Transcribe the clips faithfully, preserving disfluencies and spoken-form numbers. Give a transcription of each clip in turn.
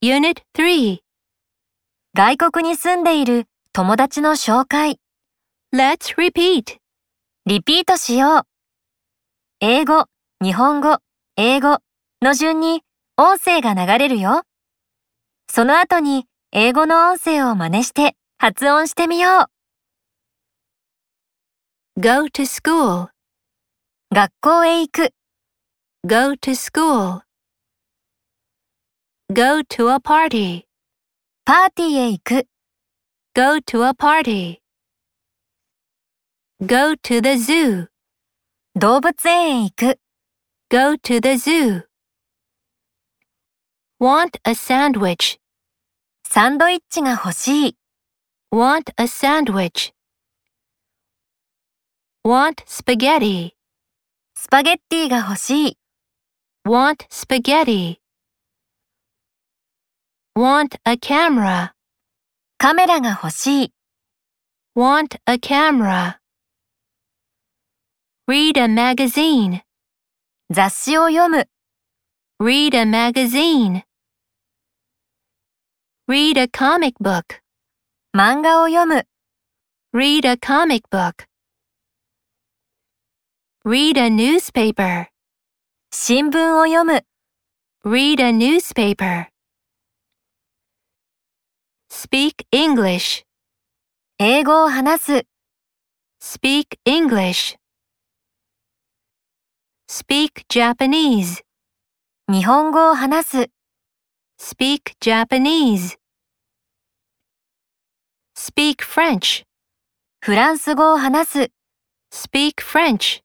Unit three. 外国に住んでいる友達の紹介。 Let's repeat. リピートしよう。英語、日本語、英語の順に音声が流れるよ。その後に英語の音声を真似して発音してみよう。 Go to school. 学校へ行く。 Go to school. Go to a party. パーティーへ行く。 Go to a party. Go to the zoo. 動物園へ行く。 Go to the zoo. Want a sandwich. サンドイッチが欲しい。 Want a sandwich. Want spaghetti. スパゲッティが欲しい。 Want spaghetti. Want a camera. カメラが欲しい。 Want a camera. Read a magazine. 雑誌を読む。 Read a magazine. Read a comic book. 漫画を読む。 Read a comic book. Read a newspaper. 新聞を読む。 Read a newspaper. Speak English. 英語を話す。 Speak English. Speak Japanese. 日本語を話す。 Speak Japanese. Speak French. フランス語を話す。 Speak French.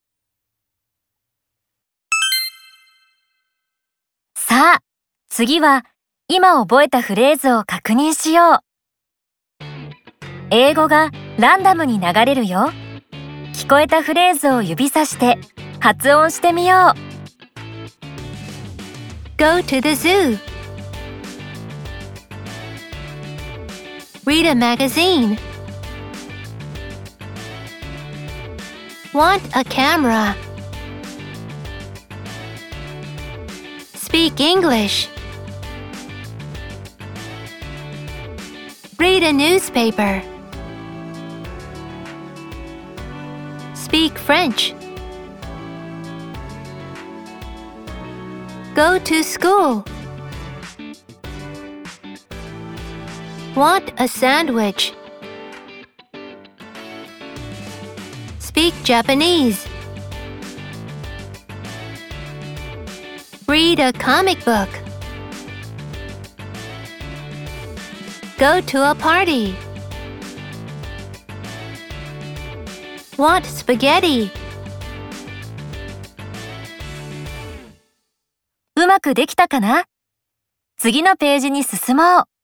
さあ、次は今覚えたフレーズを確認しよう。英語がランダムに流れるよ。聞こえたフレーズを指さして発音してみよう。 Go to the zoo. Read a magazine. Want a camera. Speak English. Read a newspaper. Speak French. Go to school. Want a sandwich. Speak Japanese. Read a comic book. Go to a party. Want spaghetti. うまくできたかな？次のページに進もう。